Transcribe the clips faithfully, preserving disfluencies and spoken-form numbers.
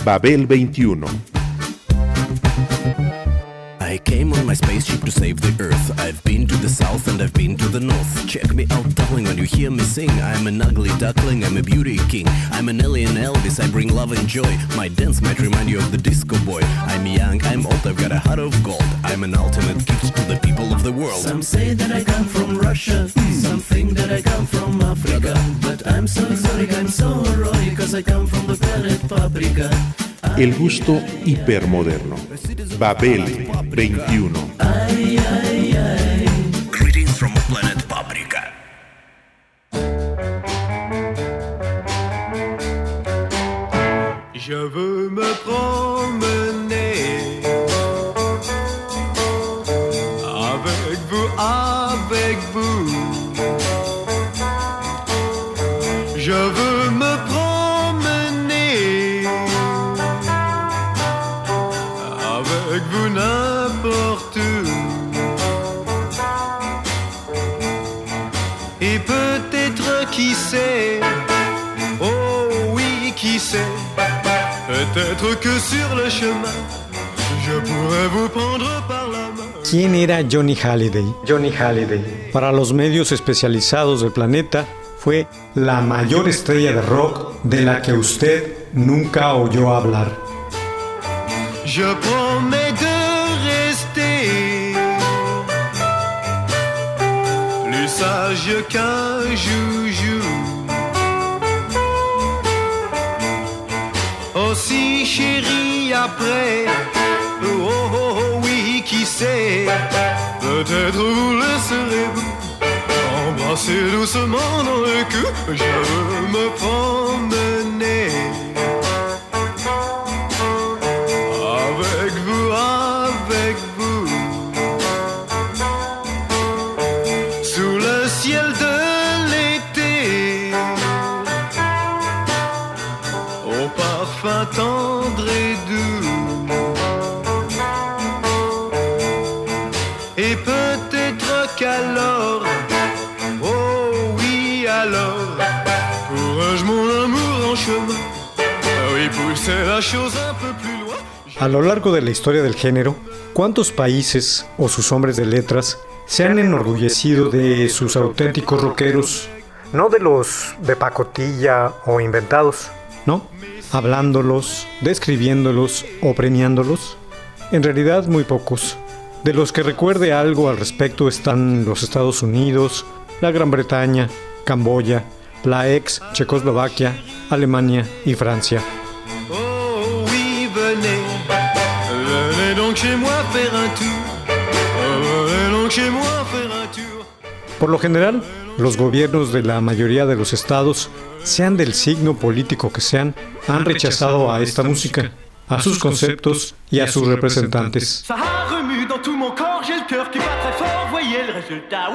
Babel veintiuno. I came on my spaceship to save the earth. I've been to the south and I've been to the north. Check me out, darling, when you hear me sing. I'm an ugly duckling, I'm a beauty king. I'm an alien Elvis, I bring love and joy. My dance might remind you of the disco boy. I'm young, I'm old, I've got a heart of gold. I'm an ultimate gift to the people of the world. Some say that I come from Russia, some think that I come from Africa. But I'm so sorry, I'm so roy, cause I come from the planet Paprika. El gusto hipermoderno. Babel veintiuno. Ay, ay, ay. Greetings from planet Paprika. Je veux me promener avec vous, avec vous. Je veux me promener avec vous n'importe où. Et peut-être qui sait, oh oui qui sait, peut-être que sur le chemin je pourrais vous prendre par la main. ¿Quién era Johnny Hallyday? Johnny Hallyday, para los medios especializados del planeta, fue la mayor estrella de rock de la que usted nunca oyó hablar. Je promets de rester plus sage qu'un joujou, aussi chéri après. Oh, oh, oh oui, qui sait, peut-être vous le serez-vous. Embrasser doucement dans le cou, je veux me promener avec vous, avec vous, sous le ciel de l'été, au parfum tendre et doux. Et peut-être qu'alors, A lo largo de la historia del género, ¿cuántos países o sus hombres de letras se han enorgullecido de sus auténticos rockeros? No de los de pacotilla o inventados, ¿no? Hablándolos, describiéndolos o premiándolos. En realidad muy pocos. De los que recuerde algo al respecto están los Estados Unidos, la Gran Bretaña, Camboya, la ex Checoslovaquia, Alemania y Francia. Oh oui, venez, venez donc chez moi faire un tour. Venez donc chez moi faire un tour. Por lo general, los gobiernos de la mayoría de los estados, sean del signo político que sean, han rechazado a esta música, a sus conceptos y a sus representantes. Ça remue dans tout mon corps, j'ai le cœur qui bat très fort, voyez le résultat.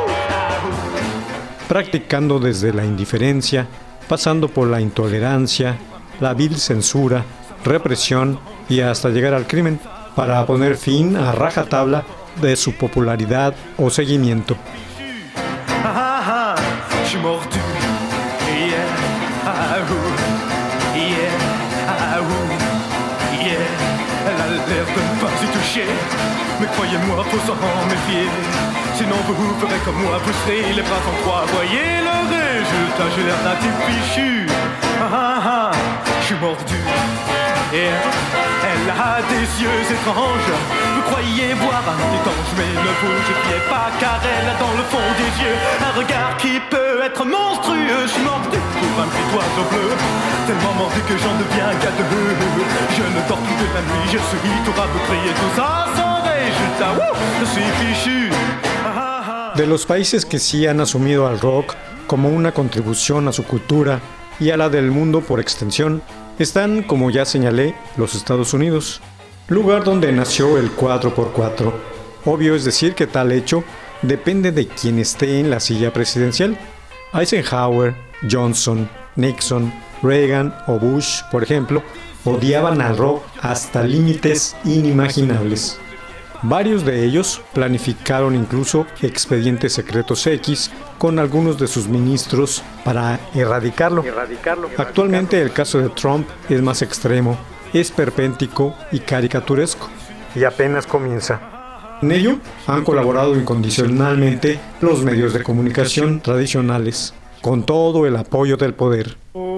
Practicando desde la indiferencia, pasando por la intolerancia, la vil censura, represión y hasta llegar al crimen, para poner fin a rajatabla de su popularidad o seguimiento. Ah, ah, je suis mordu. Yeah, ah, ouh. Yeah, ah, ouh. Yeah, elle a l'air de ne pas y toucher, mais croyez-moi, faut s'en méfier. Sinon vous ferez comme moi, vous serez les bras en croix. Voyez le résultat, j'ai l'air d'un type fichu. Ah ah ah, je suis mordu. Et elle a des yeux étranges. Vous croyez voir un anti-tange, mais ne vous fiez pas, car elle a dans le fond des yeux un regard qui peut être monstrueux. Je suis mordu pour un petit oiseau bleu, tellement mordu que j'en deviens gadeux. Je ne dors plus de la nuit, je suis tout rabougri et tout ça sans résultat. Wouh, je suis fichu. De los países que sí han asumido al rock como una contribución a su cultura y a la del mundo por extensión, están, como ya señalé, los Estados Unidos, lugar donde nació el cuatro por cuatro. Obvio es decir que tal hecho depende de quien esté en la silla presidencial. Eisenhower, Johnson, Nixon, Reagan o Bush, por ejemplo, odiaban al rock hasta límites inimaginables. Varios de ellos planificaron incluso expedientes secretos X con algunos de sus ministros para erradicarlo. erradicarlo. Actualmente el caso de Trump es más extremo esperpéntico y caricaturesco, y apenas comienza. En ello han colaborado incondicionalmente los medios de comunicación tradicionales, con todo el apoyo del poder.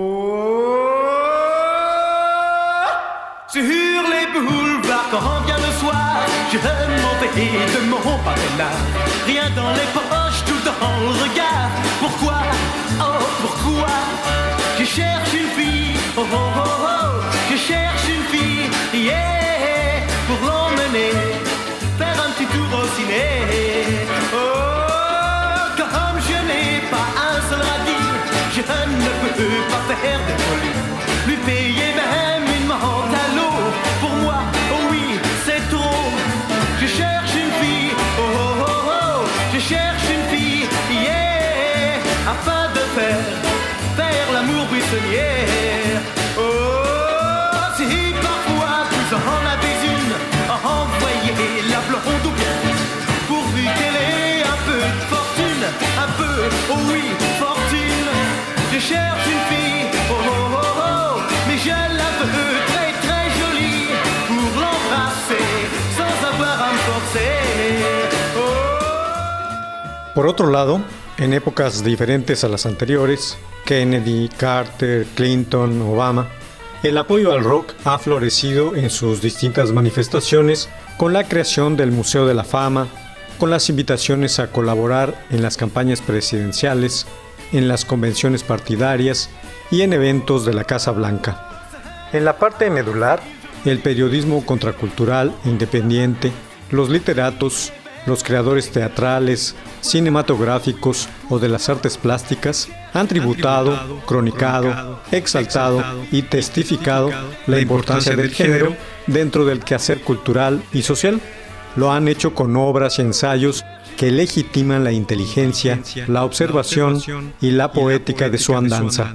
Sur les boulevards quand vient le soir, je m'en vais de mon là. Rien dans les poches, tout dans le regard. Pourquoi, oh pourquoi, je cherche une fille, oh oh oh oh, je cherche une fille, yeah, pour l'emmener, faire un petit tour au ciné. Oh, comme je n'ai pas un seul radis, je ne peux pas faire de folie, lui payer même une menthe à l'eau. Pour moi, oh oui, c'est trop. Je cherche une fille, oh oh oh oh, je cherche une fille, yeah, afin de faire, faire l'amour buissonnière. Oh, si parfois vous en avez une, envoyez la blonde ou bien, pourvu qu'elle ait un peu de fortune, un peu, oh oui, fortune. Je cherche une fille, oh oh oh oh, mais je la veux très très jolie, pour l'embrasser sans avoir à me forcer. Oh. Por otro lado, en épocas diferentes a las anteriores, Kennedy, Carter, Clinton, Obama, el apoyo al rock ha florecido en sus distintas manifestaciones con la creación del Museo de la Fama, con las invitaciones a colaborar en las campañas presidenciales, en las convenciones partidarias y en eventos de la Casa Blanca. En la parte medular, el periodismo contracultural e independiente, los literatos, los creadores teatrales, cinematográficos o de las artes plásticas han tributado, cronicado, exaltado y testificado la importancia del género dentro del quehacer cultural y social. Lo han hecho con obras y ensayos que legitiman la inteligencia, la observación y la poética de su andanza.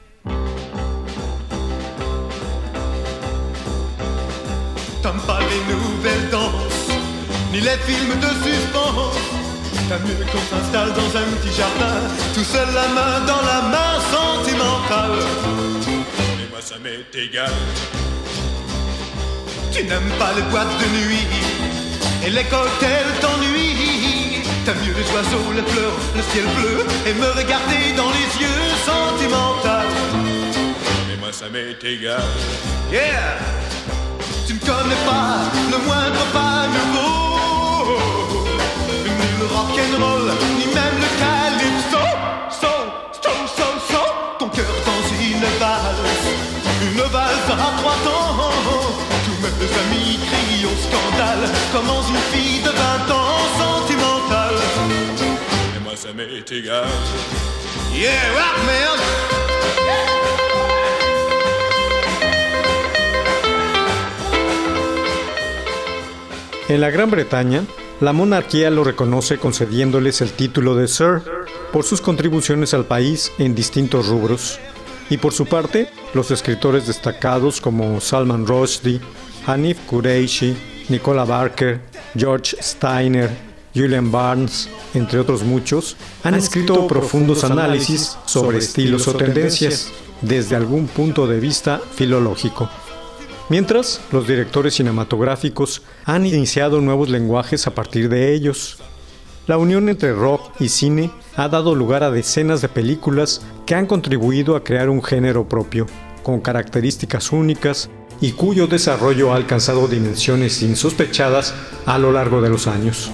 T'aimes pas les nouvelles danses, ni les films de suspense. T'as mieux qu'on s'installe dans un petit jardin, tout seul la main dans la main sentimentale. Et moi ça m'est égal. Tu n'aimes pas les boîtes de nuit, et les cocktails t'ennuient. T'as mieux les oiseaux, les fleurs, le ciel bleu, et me regarder dans les yeux sentimental. Mais moi ça m'est égal. Yeah! Tu ne connais pas le moindre pas nouveau, ni le rock'n'roll, ni même le calypso. So, so, so, so, ton cœur dans une valse, une valse à trois temps. Tous mes amis crient au scandale, comme dans une fille de vingt ans sentimentale. Et moi ça m'est égal. Yeah, rock man! Yeah. En la Gran Bretaña, la monarquía lo reconoce concediéndoles el título de Sir por sus contribuciones al país en distintos rubros. Y por su parte, los escritores destacados como Salman Rushdie, Hanif Kureishi, Nicola Barker, George Steiner, Julian Barnes, entre otros muchos, han escrito profundos análisis sobre estilos o tendencias desde algún punto de vista filológico. Mientras, los directores cinematográficos han iniciado nuevos lenguajes a partir de ellos. La unión entre rock y cine ha dado lugar a decenas de películas que han contribuido a crear un género propio, con características únicas y cuyo desarrollo ha alcanzado dimensiones insospechadas a lo largo de los años.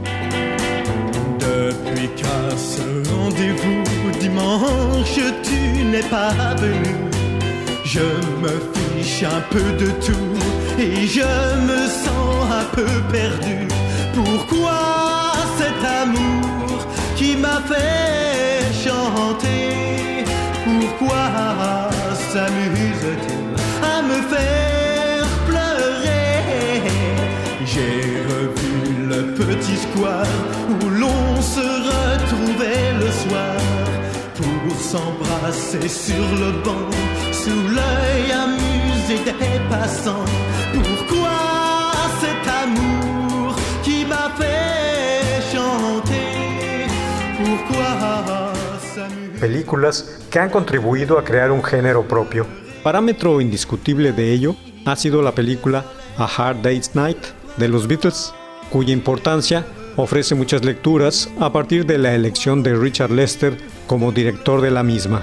Depuis qu'à ce rendez-vous dimanche tu n'es pas venu, je me fiche un peu de tout et je me sens un peu perdu. Pourquoi cet amour qui m'a fait chanter? Pourquoi s'amuse-t-il à me faire pleurer? J'ai revu le petit square où l'on se retrouvait le soir pour s'embrasser sur le banc, sous l'œil amusé des passants. Pourquoi cet amour qui m'a fait chanter? Pourquoi s'amuser? Películas que han contribuido a crear un género propio. Parámetro indiscutible de ello ha sido la película A Hard Day's Night de los Beatles, cuya importancia ofrece muchas lecturas a partir de la elección de Richard Lester como director de la misma.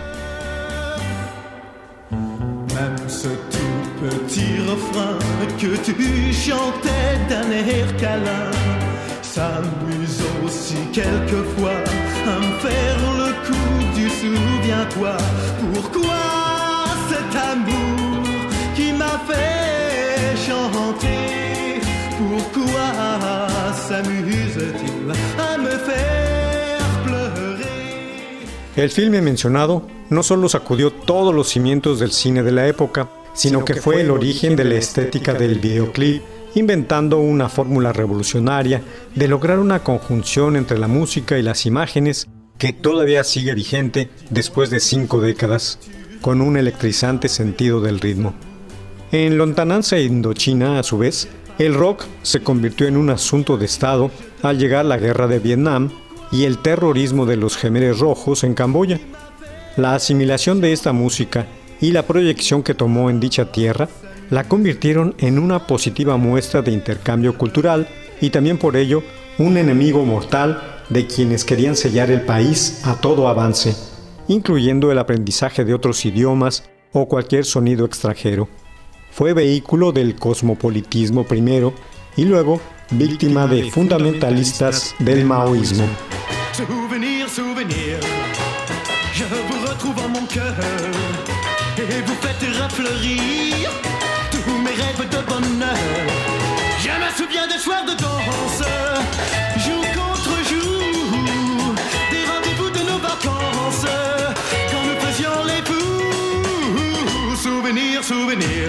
Même ce tout petit refrain que tu chantais d'un air câlin s'amuse aussi quelquefois à me faire le coup du souviens-toi. Pourquoi cet amour qui m'a fait chanter? Pourquoi s'amuse-t-il à me faire pleurer? El filme mencionado no solo sacudió todos los cimientos del cine de la época, sino que fue el origen de la estética del videoclip, inventando una fórmula revolucionaria de lograr una conjunción entre la música y las imágenes que todavía sigue vigente después de cinco décadas, con un electrizante sentido del ritmo. En lontananza Indochina, a su vez, el rock se convirtió en un asunto de Estado al llegar la guerra de Vietnam y el terrorismo de los Khmeres Rojos en Camboya. La asimilación de esta música y la proyección que tomó en dicha tierra la convirtieron en una positiva muestra de intercambio cultural y también por ello un enemigo mortal de quienes querían sellar el país a todo avance, incluyendo el aprendizaje de otros idiomas o cualquier sonido extranjero. Fue vehículo del cosmopolitismo primero y luego víctima de fundamentalistas del maoísmo. Souvenir, souvenir, je vous retrouve en mon cœur et vous faites refleurir tous mes rêves de bonheur. Je me souviens des soirs de danse, jour contre jour, des rendez-vous de nos vacances, quand nous faisions les fous. Souvenir, souvenir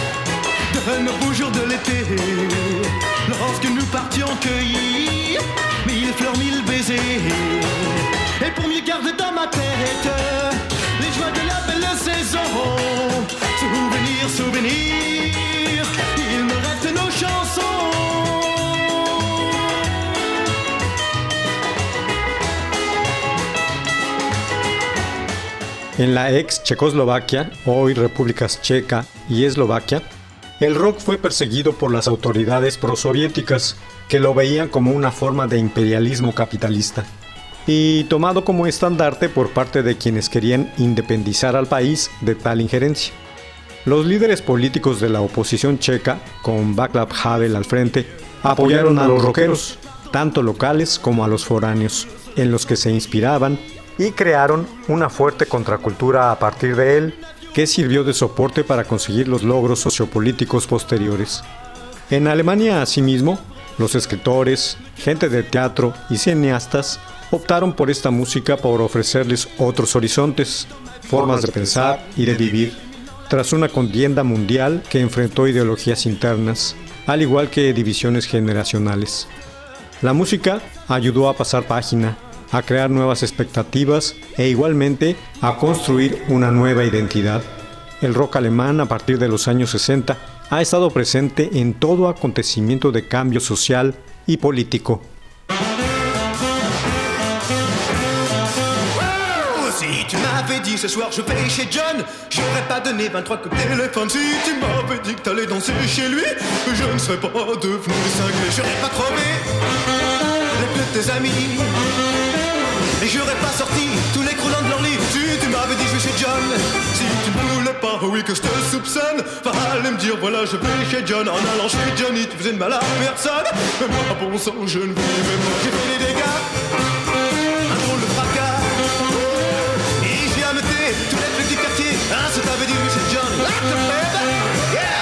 de nos beaux jours de l'été, lorsque nous partions cueillir mille fleurs, mille baisers. Et pour mieux garder dans ma tête les joies de la belle saison. Souvenir, souvenir, il me reste nos chansons. En la ex Checoslovaquia, hoy Repúblicas Checa y Eslovaquia, el rock fue perseguido por las autoridades prosoviéticas, que lo veían como una forma de imperialismo capitalista, y tomado como estandarte por parte de quienes querían independizar al país de tal injerencia. Los líderes políticos de la oposición checa, con Václav Havel al frente, apoyaron a los rockeros, tanto locales como a los foráneos, en los que se inspiraban y crearon una fuerte contracultura a partir de él, que sirvió de soporte para conseguir los logros sociopolíticos posteriores. En Alemania, asimismo, los escritores, gente de teatro y cineastas optaron por esta música por ofrecerles otros horizontes, formas de pensar y de vivir, tras una contienda mundial que enfrentó ideologías internas, al igual que divisiones generacionales. La música ayudó a pasar página, a crear nuevas expectativas e igualmente a construir una nueva identidad. El rock alemán a partir de los años sesenta ha estado presente en todo acontecimiento de cambio social y político. Si tu m'avais dit ce soir je vais chez John, j'aurais pas donné vingt-trois coups de téléphone. Si tu m'avais dit que t'allais danser chez lui, je ne serais pas devenu cinglé. J'aurais pas crevé les pneus de tes amis, et j'aurais pas sorti tous les croulants de leur lit. Si tu m'avais dit je vais chez John, si tu ne voulais pas, oui que je te soupçonne, fallait me dire voilà je vais chez John. En allant chez Johnny tu faisais de mal à personne, mais moi bon sang je ne vivais pas. J'ai fait des dégâts, un drôle de fracas, et j'ai ameuté tous les flics du quartier. Hein, si t'avais dit oui chez John, là te fais, yeah.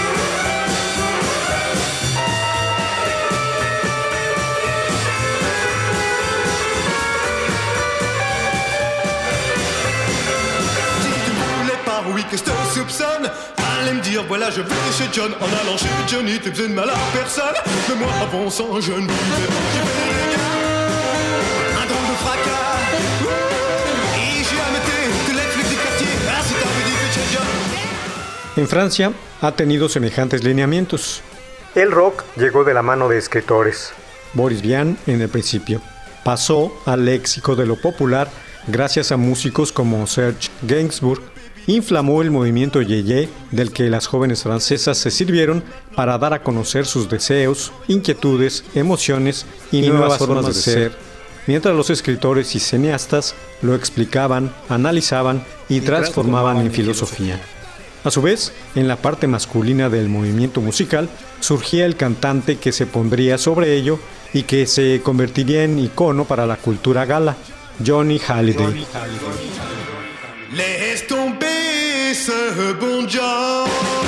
Oui que je te soupçonne, fallait me dire voilà je vais chez John. En allant chez Johnny t'es besoin de mal à personne, mais moi à bon sang je ne vivais pas. J'ai fait des dégâts, un drôle de fracas, et j'ai ameuté tous les flics du quartier. Ah si t'avais dit que chez John. En Francia ha tenido semejantes lineamientos. El rock llegó de la mano de escritores. Boris Vian en el principio. Pasó al léxico de lo popular gracias a músicos como Serge Gainsbourg inflamó el movimiento Yeye, del que las jóvenes francesas se sirvieron para dar a conocer sus deseos, inquietudes, emociones y, y nuevas formas de ser, mientras los escritores y cineastas lo explicaban, analizaban y, y transformaban en filosofía. A su vez, en la parte masculina del movimiento musical, surgía el cantante que se pondría sobre ello y que se convertiría en icono para la cultura gala, Johnny Hallyday. Laisse tomber ce bon Dieu.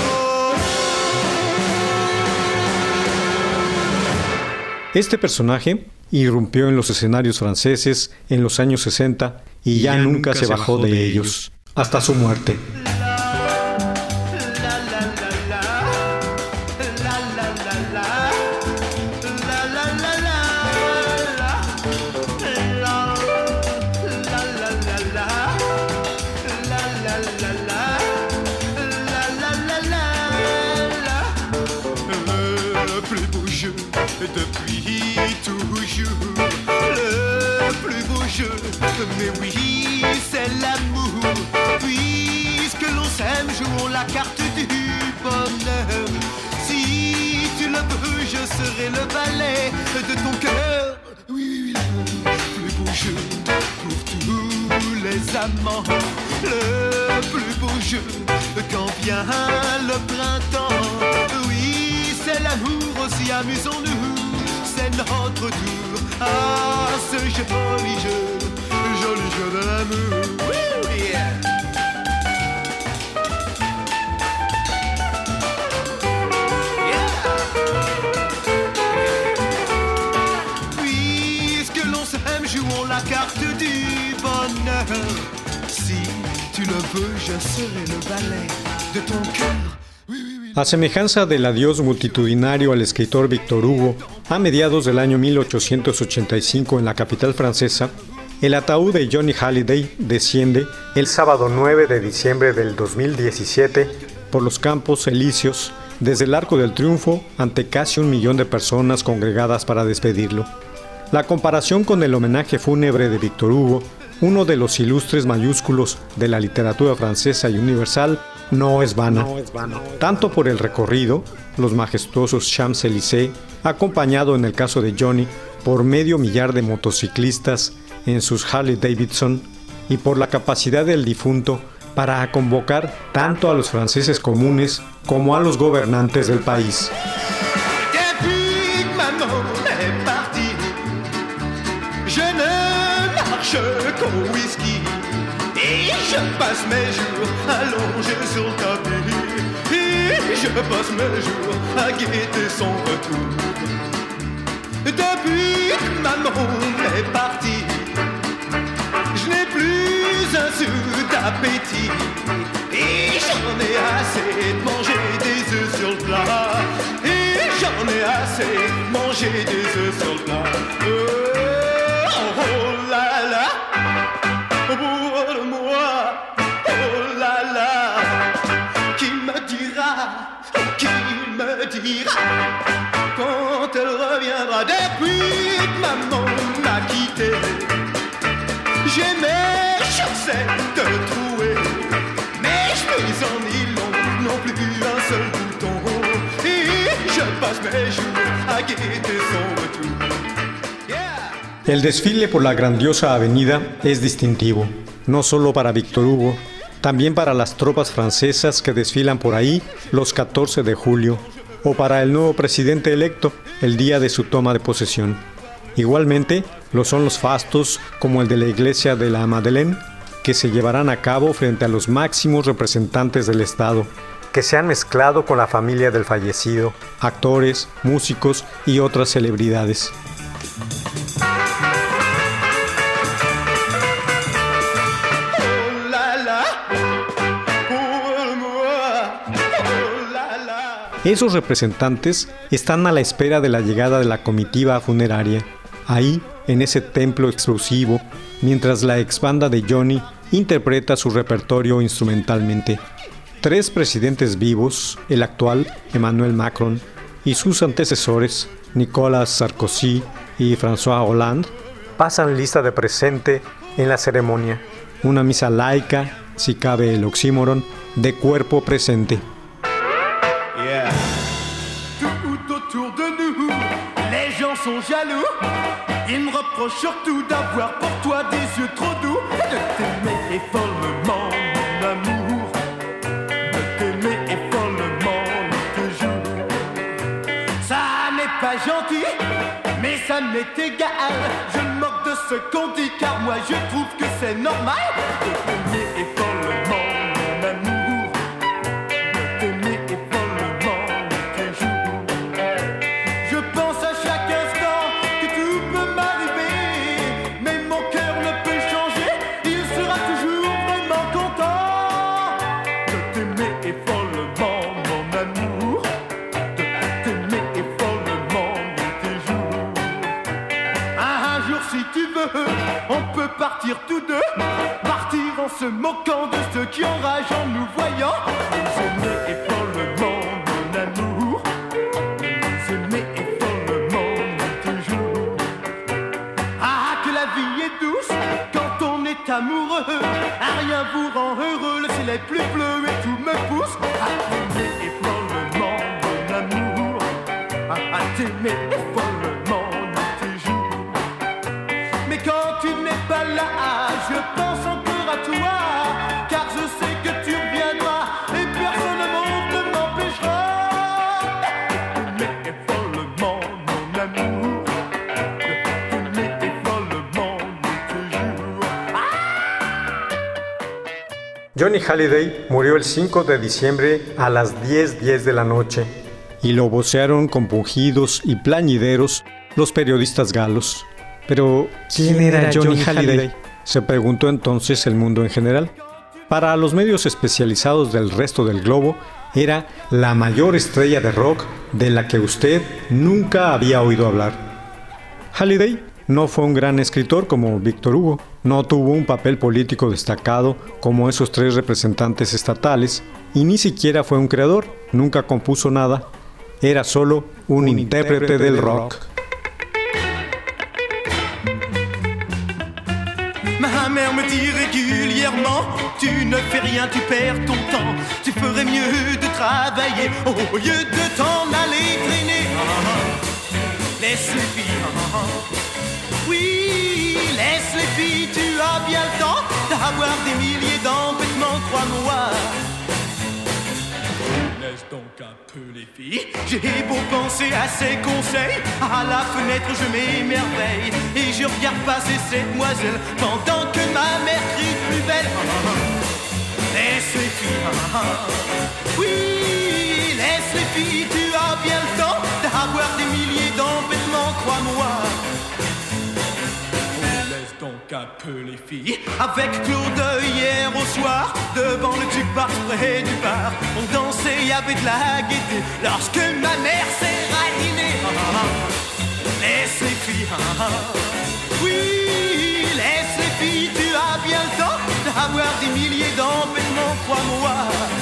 Este personaje irrumpió en los escenarios franceses en los años sesenta y, y ya, ya nunca, nunca se bajó de, de ellos, hasta su muerte. Depuis toujours, le plus beau jeu, mais oui, c'est l'amour. Puisque l'on s'aime, jouons la carte du bonheur. Si tu le veux, je serai le valet de ton cœur. Oui, oui, le plus beau jeu pour tous les amants. Le plus beau jeu quand vient le printemps. Oui, c'est l'amour, aussi amusons-nous. C'est notre tour à ce joli jeu, joli jeu de l'amour. Woo, yeah. Yeah. Puisque l'on s'aime, jouons la carte du bonheur. Si tu le veux, je serai le valet de ton cœur. A semejanza del adiós multitudinario al escritor Víctor Hugo, a mediados del año mil ochocientos ochenta y cinco en la capital francesa, el ataúd de Johnny Hallyday desciende el sábado nueve de diciembre del dos mil diecisiete por los Campos Elíseos desde el Arco del Triunfo ante casi un millón de personas congregadas para despedirlo. La comparación con el homenaje fúnebre de Víctor Hugo, uno de los ilustres mayúsculos de la literatura francesa y universal, no es vana, no es vana, tanto por el recorrido, los majestuosos Champs-Élysées, acompañado en el caso de Johnny por medio millar de motociclistas en sus Harley Davidson, y por la capacidad del difunto para convocar tanto a los franceses comunes como a los gobernantes del país. Je passe mes jours allongé sur le tapis et je passe mes jours à guetter son retour. Depuis que maman est partie, je n'ai plus un sou d'appétit et j'en ai assez de manger des œufs sur le plat. Et j'en ai assez de manger des œufs sur le plat. Oh, oh, oh là là. Pour moi, oh là là, qui me dira, qui me dira, quand elle reviendra depuis que maman m'a quitté. J'ai mes chaussettes trouées, mes chemises en nylon n'ont plus un seul bouton, et je passe mes jours à guetter son retour. El desfile por la grandiosa avenida es distintivo, no solo para Víctor Hugo, también para las tropas francesas que desfilan por ahí los catorce de julio, o para el nuevo presidente electo el día de su toma de posesión. Igualmente, lo son los fastos como el de la iglesia de la Madeleine, que se llevarán a cabo frente a los máximos representantes del Estado, que se han mezclado con la familia del fallecido, actores, músicos y otras celebridades. Esos representantes están a la espera de la llegada de la comitiva funeraria, ahí, en ese templo exclusivo, mientras la ex banda de Johnny interpreta su repertorio instrumentalmente. Tres presidentes vivos, el actual, Emmanuel Macron, y sus antecesores, Nicolas Sarkozy y François Hollande, pasan lista de presente en la ceremonia. Una misa laica, si cabe el oxímoron, de cuerpo presente. Yeah. Tout autour de nous, les gens sont jaloux. Ils me reprochent surtout d'avoir pour toi des yeux trop doux. De t'aimer follement, mon amour. De t'aimer follement, toujours. Ça n'est pas gentil, mais ça m'est égal. Je me moque de ce qu'on dit, car moi je trouve que c'est normal. De t'aimer follement, mon amour. De t'aimer follement, toujours. Je pense à chaque instant que tout peut m'arriver, mais mon cœur ne peut changer, il sera toujours vraiment content de t'aimer follement, mon amour, de t'aimer follement, toujours. Un jour si tu veux, on peut partir tous deux, partir en se moquant de ceux qui enragent en nous voyant. Nous aimer follement, mon amour, nous aimer follement, toujours. Ah, que la vie est douce quand on est amoureux, à rien vous rend heureux, le ciel est plus bleu et tout me pousse à t'aimer follement, mon amour, à, à t'aimer follement, toujours. Mais quand tu n'es pas là, je pense encore à toi, car je sais que tu reviendras et personne au monde ne m'empêchera de t'aimer follement, mon amour, de t'aimer follement, toujours. Johnny Hallyday murió el cinco de diciembre a las diez diez de la noche y lo vocearon compungidos y plañideros los periodistas galos. Pero, ¿quién era Johnny Hallyday?, se preguntó entonces el mundo en general. Para los medios especializados del resto del globo, era la mayor estrella de rock de la que usted nunca había oído hablar. Hallyday no fue un gran escritor como Víctor Hugo, no tuvo un papel político destacado como esos tres representantes estatales, y ni siquiera fue un creador, nunca compuso nada, era solo un, un intérprete, intérprete del rock. rock. Ma mère me dit régulièrement, tu ne fais rien, tu perds ton temps. Tu ferais mieux de travailler au lieu de t'en aller traîner. Laisse les filles, oui, laisse les filles, tu as bien le temps d'avoir des milliers d'embêtements, crois-moi. Laisse donc un peu les filles. J'ai beau penser à ces conseils, à la fenêtre je m'émerveille et je regarde passer cette demoiselle pendant que ma mère crie plus belle. Laisse les filles, oui, laisse les filles, tu as bien le temps d'avoir des milliers d'embêtements, crois-moi. Laisse donc un peu les filles. Avec Claude hier au soir, devant le jukebox près du bar, on dansait, y avait de la gaieté lorsque ma mère s'est radinée. Laisse les filles, oui, laisse les filles, tu as bien le temps d'avoir des milliers d'embêtements, crois-moi.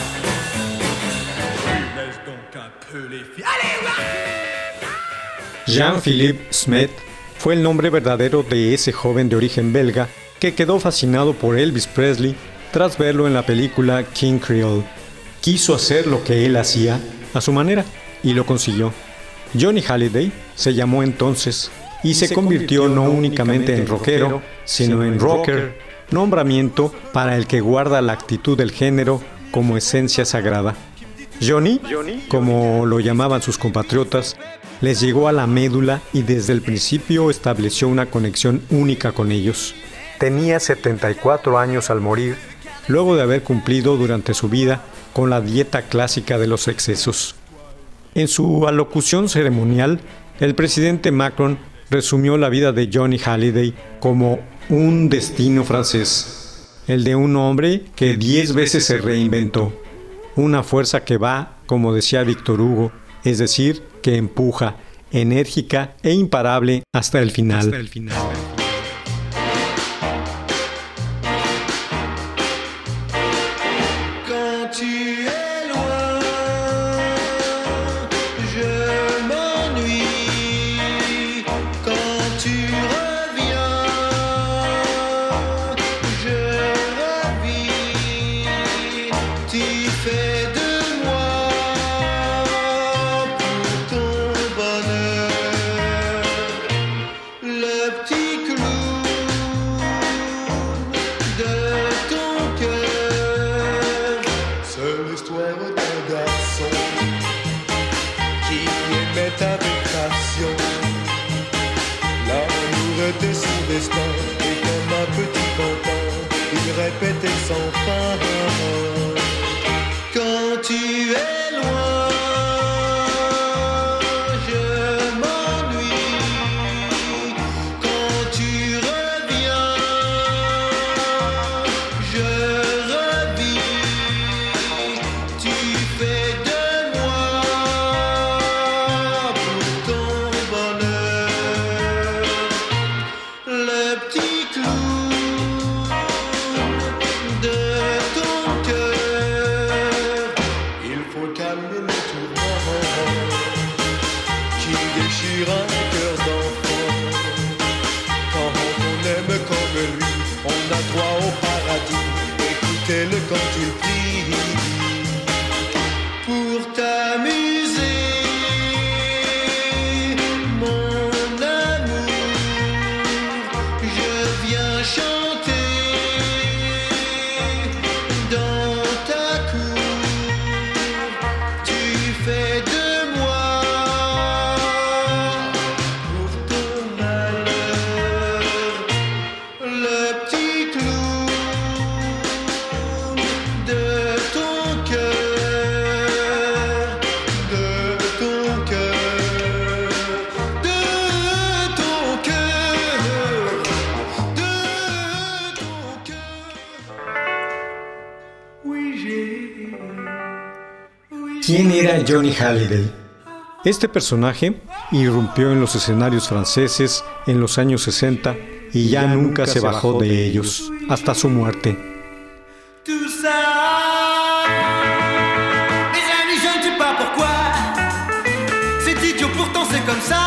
Laisse donc un peu les filles. Allez, ouais. Jean-Philippe Smet fue el nombre verdadero de ese joven de origen belga que quedó fascinado por Elvis Presley tras verlo en la película King Creole. Quiso hacer lo que él hacía a su manera y lo consiguió. Johnny Hallyday se llamó entonces y se convirtió no únicamente en rockero, sino en rocker, nombramiento para el que guarda la actitud del género como esencia sagrada. Johnny, como lo llamaban sus compatriotas, les llegó a la médula y desde el principio estableció una conexión única con ellos. Tenía setenta y cuatro años al morir, luego de haber cumplido durante su vida con la dieta clásica de los excesos. En su alocución ceremonial, el presidente Macron resumió la vida de Johnny Hallyday como un destino francés, el de un hombre que diez veces se reinventó, una fuerza que va, como decía Víctor Hugo, es decir, que empuja, enérgica e imparable hasta el final. Hasta el final. destin. Et comme un petit Quentin, il répétait sans fin. Quand tu es loin, je m'ennuie. Quand tu reviens, je revis. Tu fais de moi pour ton bonheur le petit clou de ton cœur. Il faut calmer le tourment qui déchire un cœur d'enfant. Quand on aime comme lui, on a droit au paradis. Écoutez-le quand il prie. Pour t'amuser, mon amour, je viens chanter dans ta cour. Tu fais de moi pour ton malheur le petit clou de ton cœur, de ton cœur, de ton cœur, de ton cœur. Oui, j'ai. Oui, ¿Quién era Johnny Hallyday? Este personaje irrumpió en los escenarios franceses en los años sesenta y ya nunca se bajó de ellos, hasta su muerte. Tout ça, mes amis, je ne sais pas pourquoi. C'est idiot, pourtant c'est comme ça.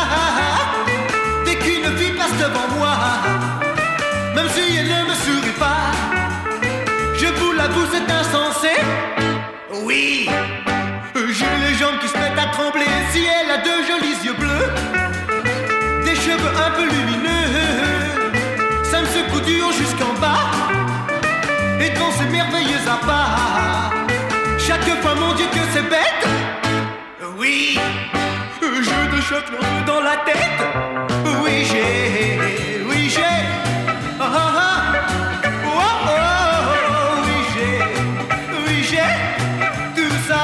Dès qu'une fille passe devant moi, même si elle ne me sourit pas, je vous l'avoue, c'est insensé. Oui, j'ai les jambes qui se mettent à trembler. Si elle a de jolis yeux bleus, des cheveux un peu lumineux, ça me secoue du haut jusqu'en bas. Et devant ces merveilleux appâts, chaque fois, mon Dieu, que c'est bête. Oui, je te choque l'enfeu dans la tête. Oui, j'ai, oui, j'ai. Oh, oh, oh. Oh, oh, oh. Oui, j'ai, oui, j'ai. Tout ça,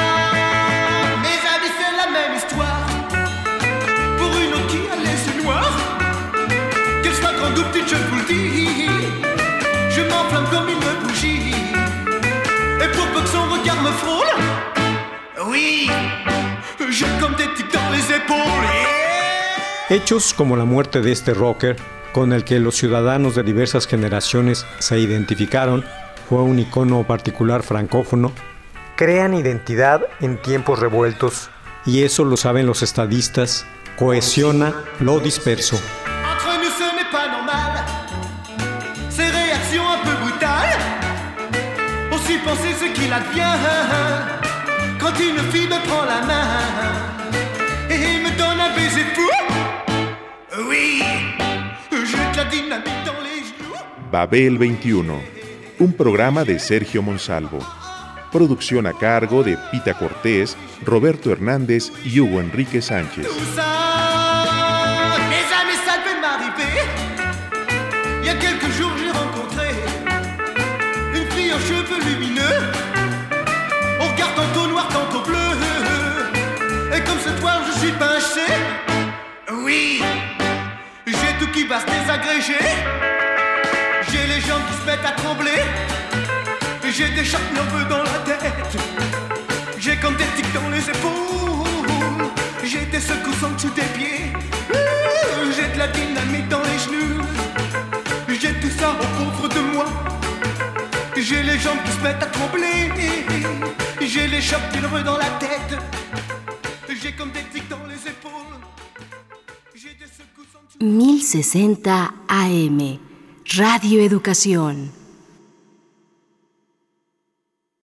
mes amis, c'est la même histoire. Pour une autre qui a les yeux noirs, qu'elle soit grande ou petite, je vous le dis, je m'enflamme comme une bougie. Et pour peu que son regard me frôle, oui, j'ai comme des tics dans les épaules. Yeah. Hechos como la muerte de este rocker, con el que los ciudadanos de diversas generaciones se identificaron, fue un icono particular francófono, crean identidad en tiempos revueltos, y eso lo saben los estadistas, cohesiona lo disperso. Entre nous, ce n'est pas normal. Ces réactions un peu brutales. Aussi penser ce qu'il advient quand une fille me prend la main et me donne un baiser fou. Oui, j'ai de la dynamite dans les genoux. Babel veintiuno, un programa de Sergio Monsalvo. Producción a cargo de Pita Cortés, Roberto Hernández y Hugo Enrique Sánchez. Tout ça, mes amis, ça devait m'arriver. Il y a quelques jours, j'ai rencontré une fille aux cheveux lumineux, au regard tantôt noir, tantôt bleu. Et comme ce soir, je suis pinché. Oui, j'ai tout qui va se désagréger. J'ai les jambes qui se mettent à trembler. J'ai des chocs nerveux dans la tête. J'ai comme des tics dans les épaules. J'ai des secousses en dessous des pieds. J'ai de la dynamite dans les genoux. J'ai tout ça au pauvre de moi. J'ai les jambes qui se mettent à trembler. J'ai les chocs nerveux dans la tête. J'ai comme des tics dans les épaules. J'ai des secousses en dessous. mil sesenta A M Radio Educación.